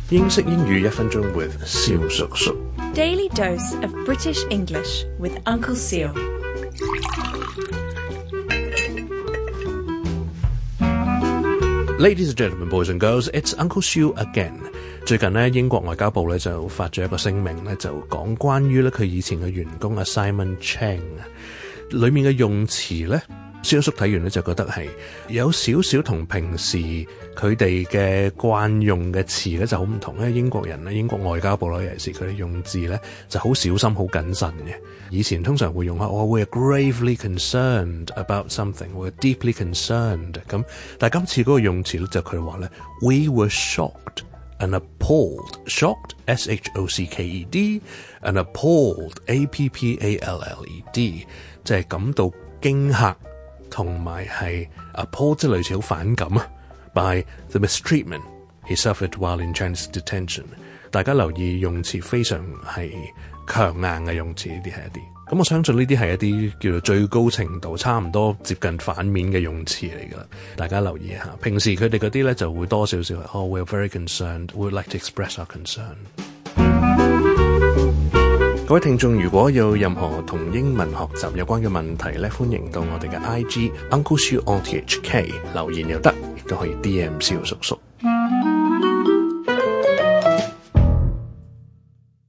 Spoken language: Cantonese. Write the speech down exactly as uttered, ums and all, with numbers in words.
英式英語一分鐘 with 蕭叔叔。 Daily dose of British English with Uncle Seal. Ladies and gentlemen, boys and girls, it's Uncle Seal again. 最近咧，英國外交部咧就發咗一個聲明咧，就講關於咧佢以前嘅員工阿 Simon Cheng 裏面嘅用詞咧，蕭叔睇完咧就覺得係有少少同平時佢哋嘅慣用嘅詞咧就好唔同咧。英國人咧，英國外交部咧，尤其是佢哋用字咧就好小心、好謹慎嘅。以前通常會用下我 we're gravely concerned about something， we're deeply concerned 咁，但係今次嗰個用詞咧就佢話咧 we were shocked。And appalled, shocked, S H O C K E D, and appalled, A P P A L L E D， 即係感到驚嚇，同埋係 appalled 即係類似好反感啊 by the mistreatment he suffered while in Chinese detention。大家留意用詞非常係強硬嘅用詞，呢啲係一啲。咁我相信呢啲係一啲叫做最高程度差唔多接近反面嘅用詞嚟㗎啦，大家留意下。平時佢哋嗰啲咧就會多少少係 Oh, we're very concerned, we would like to express our concern。 各位聽眾，如果有任何同英文學習有關嘅問題咧，歡迎到我哋嘅 I G Uncle Seal on T H K 留言又得，亦都可以 D M 蕭叔叔。